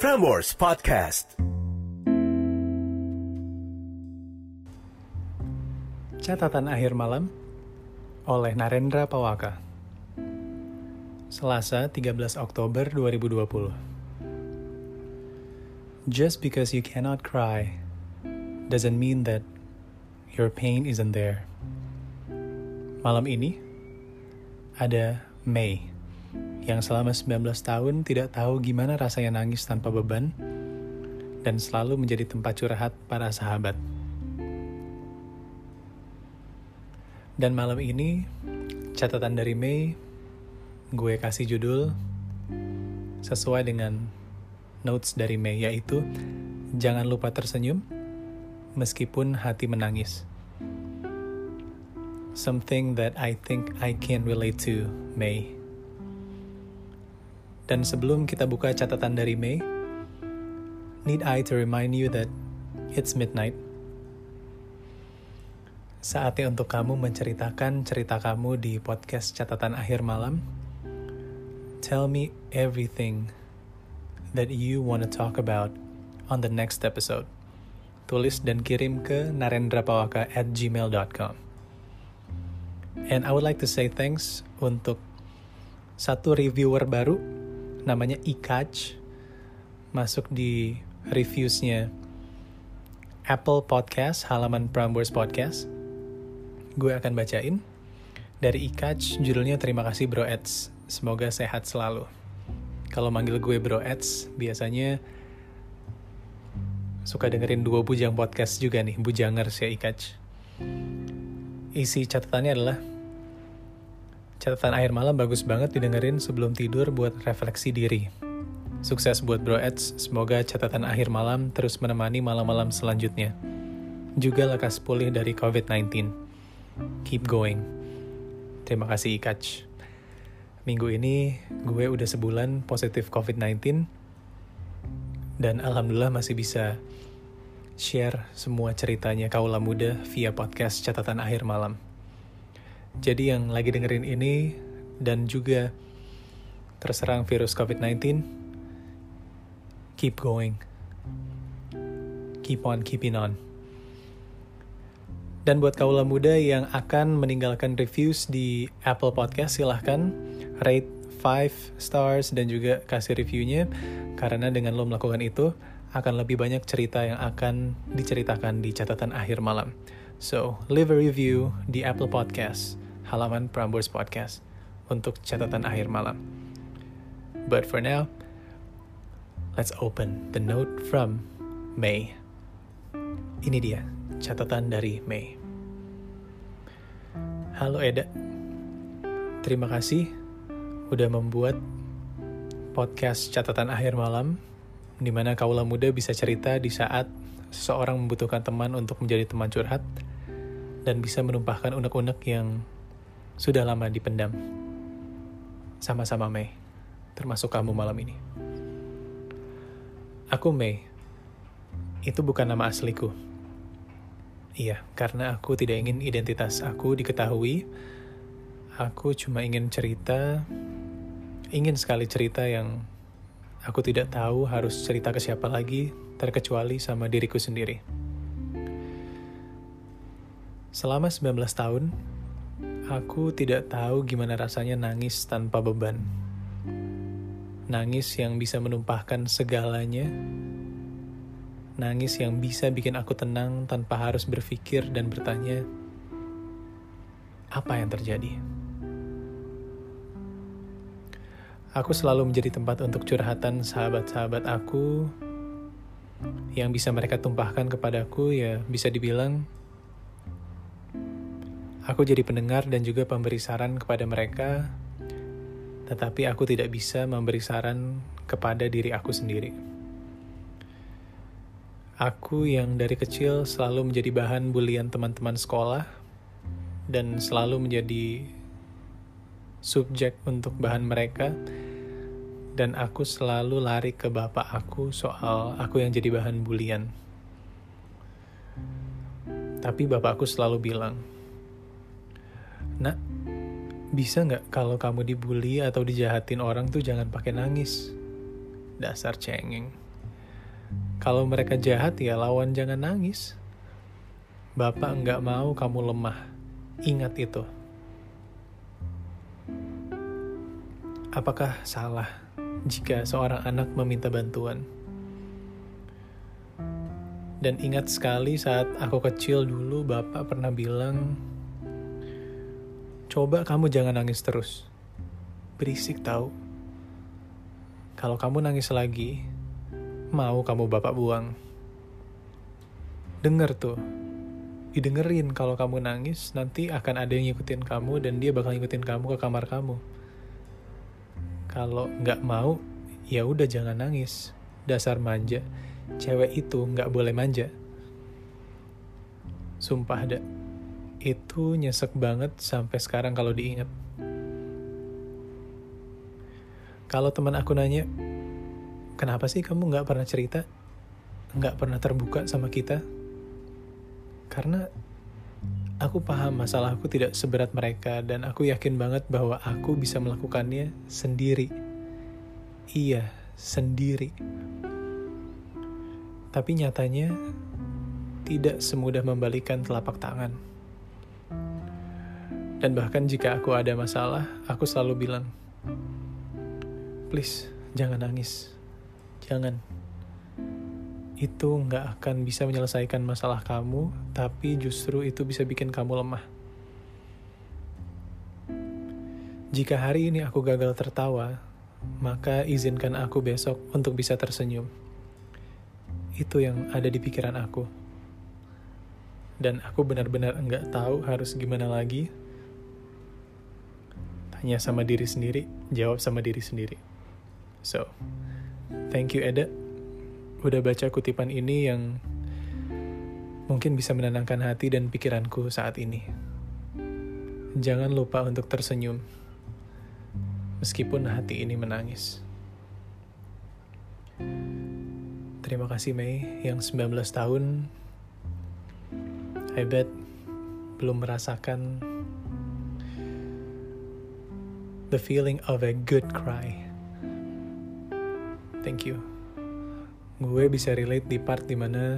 Prambors Podcast. Catatan akhir malam oleh Narendra Pawaka. Selasa 13 Oktober 2020. Just because you cannot cry doesn't mean that your pain isn't there. Malam ini ada Mei yang selama 19 tahun tidak tahu gimana rasanya nangis tanpa beban dan selalu menjadi tempat curhat para sahabat. Dan malam ini, catatan dari Mei, gue kasih judul sesuai dengan notes dari Mei, yaitu jangan lupa tersenyum meskipun hati menangis. Something that I think I can relate to, Mei. Dan sebelum kita buka catatan dari Mei, need I to remind you that it's midnight? Saatnya untuk kamu menceritakan cerita kamu di podcast Catatan Akhir Malam. Tell me everything that you want to talk about on the next episode. Tulis dan kirim ke narendrapawaka@gmail.com. And I would like to say thanks untuk satu reviewer baru, namanya Ikaj, masuk di reviews-nya Apple Podcast, halaman Prambors Podcast. Gue akan bacain. Dari Ikaj, judulnya terima kasih Bro Eds, semoga sehat selalu. Kalau manggil gue Bro Eds, biasanya suka dengerin dua bujang podcast juga nih, bujangers ya Ikaj. Isi catatannya adalah, catatan akhir malam bagus banget didengerin sebelum tidur buat refleksi diri. Sukses buat Bro Eds, semoga catatan akhir malam terus menemani malam-malam selanjutnya. Juga lekas pulih dari COVID-19. Keep going. Terima kasih Ikaj. Minggu ini gue udah sebulan positif COVID-19 dan alhamdulillah masih bisa share semua ceritanya kaula muda via podcast catatan akhir malam. Jadi yang lagi dengerin ini dan juga terserang virus COVID-19, keep going. Keep on keeping on. Dan buat kaula muda yang akan meninggalkan reviews di Apple Podcast, silahkan rate 5 stars dan juga kasih reviewnya, karena dengan lo melakukan itu akan lebih banyak cerita yang akan diceritakan di catatan akhir malam. So, leave a review di Apple Podcast, halaman Prambors Podcast, untuk catatan akhir malam. But for now, let's open the note from Mei. Ini dia, catatan dari Mei. Halo Eda, terima kasih udah membuat podcast catatan akhir malam, di mana kaula muda bisa cerita di saat seseorang membutuhkan teman untuk menjadi teman curhat, dan bisa menumpahkan unek-unek yang sudah lama dipendam. Sama-sama Mei, termasuk kamu malam ini. Aku Mei, itu bukan nama asliku. Iya, karena aku tidak ingin identitas aku diketahui. Aku cuma ingin sekali cerita yang aku tidak tahu harus cerita ke siapa lagi, terkecuali sama diriku sendiri. Selama 19 tahun, aku tidak tahu gimana rasanya nangis tanpa beban. Nangis yang bisa menumpahkan segalanya. Nangis yang bisa bikin aku tenang tanpa harus berpikir dan bertanya, apa yang terjadi? Aku selalu menjadi tempat untuk curhatan sahabat-sahabat aku, yang bisa mereka tumpahkan kepadaku, ya bisa dibilang aku jadi pendengar dan juga pemberi saran kepada mereka, tetapi aku tidak bisa memberi saran kepada diri aku sendiri. Aku yang dari kecil selalu menjadi bahan bulian teman-teman sekolah, dan selalu menjadi subjek untuk bahan mereka, dan aku selalu lari ke bapak aku soal aku yang jadi bahan bulian. Tapi bapak aku selalu bilang, "Nak, bisa nggak kalau kamu dibully atau dijahatin orang tuh jangan pakai nangis? Dasar cengeng." Kalau mereka jahat ya lawan, jangan nangis. Bapak nggak mau kamu lemah. Ingat itu. Apakah salah jika seorang anak meminta bantuan? Dan ingat sekali saat aku kecil dulu, Bapak pernah bilang, coba kamu jangan nangis terus. Berisik tahu. Kalau kamu nangis lagi, mau kamu Bapak buang. Dengar tuh. Didengerin kalau kamu nangis, nanti akan ada yang ngikutin kamu dan dia bakal ngikutin kamu ke kamar kamu. Kalau nggak mau, ya udah jangan nangis. Dasar manja. Cewek itu nggak boleh manja. Sumpah ada. Itu nyesek banget sampai sekarang kalau diingat. Kalau teman aku nanya, kenapa sih kamu nggak pernah cerita? Nggak pernah terbuka sama kita? Karena aku paham masalahku tidak seberat mereka dan aku yakin banget bahwa aku bisa melakukannya sendiri. Iya, sendiri. Tapi nyatanya tidak semudah membalikan telapak tangan. Dan bahkan jika aku ada masalah, aku selalu bilang, please, jangan nangis. Jangan. Itu nggak akan bisa menyelesaikan masalah kamu, tapi justru itu bisa bikin kamu lemah. Jika hari ini aku gagal tertawa, maka izinkan aku besok untuk bisa tersenyum. Itu yang ada di pikiran aku. Dan aku benar-benar nggak tahu harus gimana lagi. Tanya sama diri sendiri, jawab sama diri sendiri. So, thank you Eda. Udah baca kutipan ini yang mungkin bisa menenangkan hati dan pikiranku saat ini. Jangan lupa untuk tersenyum, meskipun hati ini menangis. Terima kasih Mei yang 19 tahun. I bet belum merasakan the feeling of a good cry. Thank you. Gue bisa relate di part dimana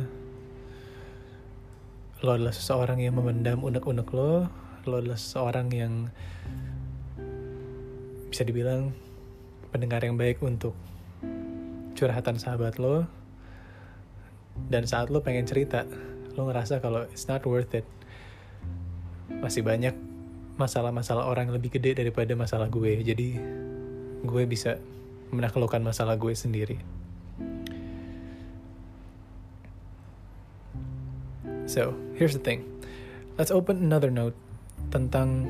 lo adalah seseorang yang memendam unek-unek lo adalah seseorang yang bisa dibilang pendengar yang baik untuk curhatan sahabat lo. Dan saat lo pengen cerita, lo ngerasa kalau it's not worth it. Masih banyak masalah-masalah orang yang lebih gede daripada masalah gue. Jadi gue bisa menaklukkan masalah gue sendiri. So, here's the thing. Let's open another note tentang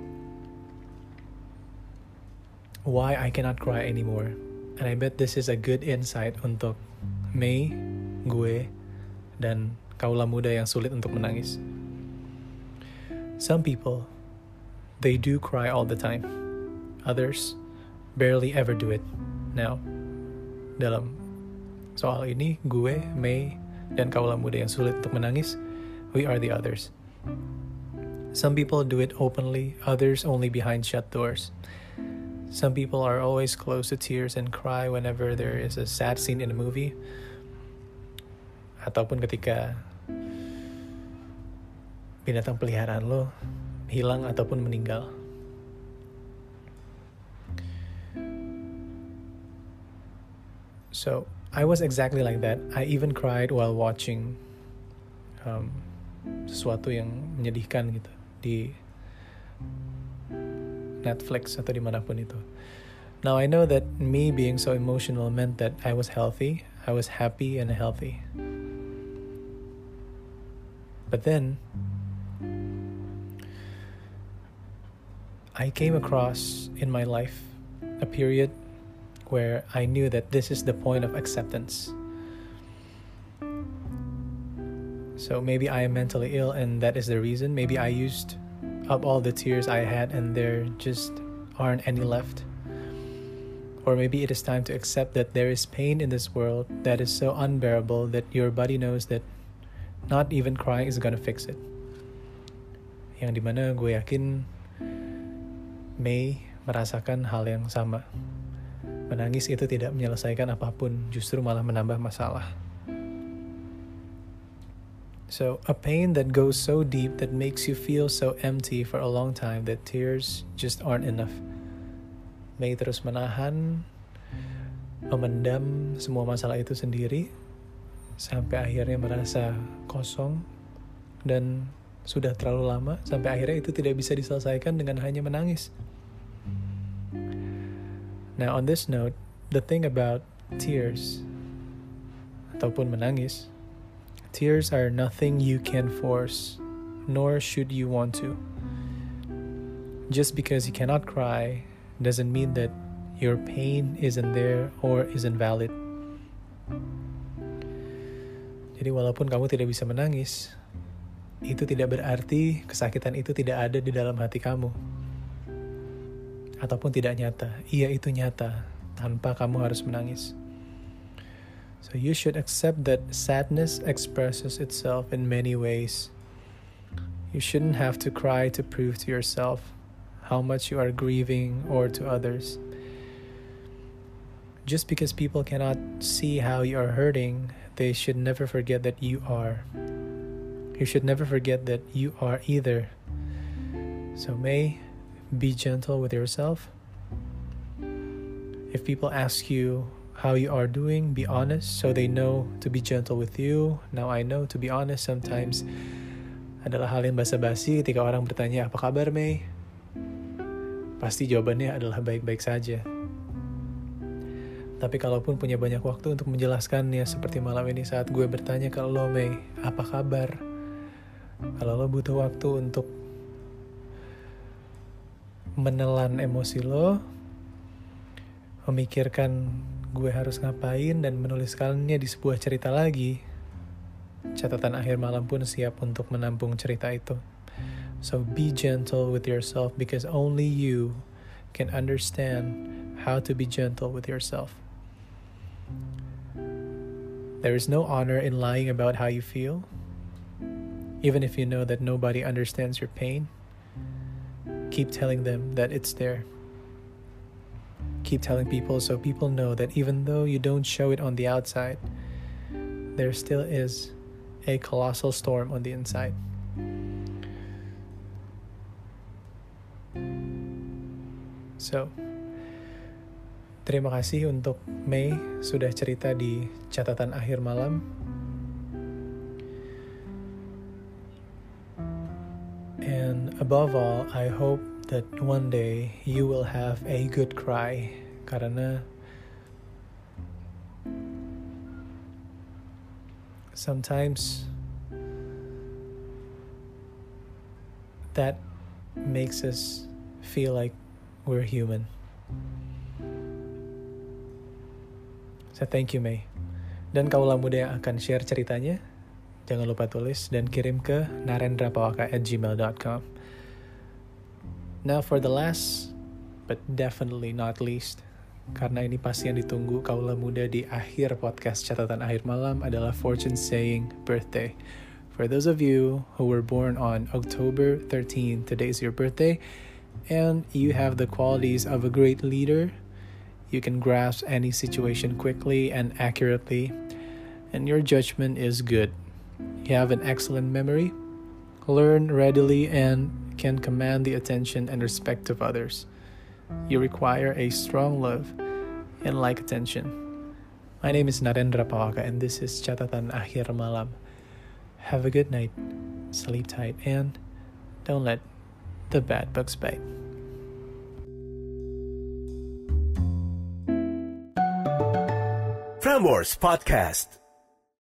why I cannot cry anymore. And I bet this is a good insight untuk Mei, gue, dan kaula muda yang sulit untuk menangis. Some people, they do cry all the time. Others barely ever do it. Now, dalam soal ini, gue, Mei, dan kaula muda yang sulit untuk menangis, we are the others. Some people do it openly, others only behind shut doors. Some people are always close to tears and cry whenever there is a sad scene in a movie. Ataupun ketika binatang peliharaan lo hilang ataupun meninggal. So, I was exactly like that. I even cried while watching sesuatu yang menyedihkan gitu di Netflix atau dimanapun itu. Now I know that me being so emotional meant that I was healthy, I was happy and healthy. But then I came across in my life a period where I knew that this is the point of acceptance. So maybe I am mentally ill and that is the reason. Maybe I used up all the tears I had and there just aren't any left. Or maybe it is time to accept that there is pain in this world that is so unbearable that your body knows that not even crying is gonna fix it. Yang dimana gue yakin Mei merasakan hal yang sama. Menangis itu tidak menyelesaikan apapun, justru malah menambah masalah. So, a pain that goes so deep that makes you feel so empty for a long time that tears just aren't enough. May terus menahan, memendam semua masalah itu sendiri, sampai akhirnya merasa kosong, dan sudah terlalu lama, sampai akhirnya itu tidak bisa diselesaikan dengan hanya menangis. Now, on this note, the thing about tears, ataupun menangis, tears are nothing you can force, nor should you want to. Just because you cannot cry doesn't mean that your pain isn't there or isn't valid. Jadi walaupun kamu tidak bisa menangis, itu tidak berarti kesakitan itu tidak ada di dalam hati kamu. Ataupun tidak nyata. Iya, itu nyata, tanpa kamu harus menangis. So you should accept that sadness expresses itself in many ways. You shouldn't have to cry to prove to yourself how much you are grieving or to others. Just because people cannot see how you are hurting, they should never forget that you are. You should never forget that you are either. So May, be gentle with yourself. If people ask you how you are doing, be honest so they know to be gentle with you. Now I know to be honest sometimes adalah hal yang basa-basi ketika orang bertanya, apa kabar May? Pasti jawabannya adalah baik-baik saja. Tapi kalaupun punya banyak waktu untuk menjelaskannya, seperti malam ini saat gue bertanya ke lo May, apa kabar? Kalau lo butuh waktu untuk menelan emosi lo, memikirkan gue harus ngapain dan menuliskannya di sebuah cerita lagi, catatan akhir malam pun siap untuk menampung cerita itu. So be gentle with yourself because only you can understand how to be gentle with yourself. There is no honor in lying about how you feel, even if you know that nobody understands your pain. Keep telling them that it's there. Keep telling people so people know that even though you don't show it on the outside, there still is a colossal storm on the inside. So, terima kasih untuk May sudah cerita di catatan akhir malam. And above all, I hope that one day you will have a good cry, karena sometimes that makes us feel like we're human. So thank you May. Dan kaulah muda yang akan share ceritanya, jangan lupa tulis dan kirim ke narendrapawaka@gmail.com. Now for the last, but definitely not least, karena ini pasti yang ditunggu kaulah muda di akhir podcast catatan akhir malam adalah fortune saying birthday. For those of you who were born on October 13, today is your birthday, and you have the qualities of a great leader. You can grasp any situation quickly and accurately, and your judgment is good. You have an excellent memory, learn readily, and can command the attention and respect of others. You require a strong love and like attention. My name is Narendra Pawaka, and this is Catatan Akhir Malam. Have a good night, sleep tight, and don't let the bad bugs bite. Frameworks Podcast.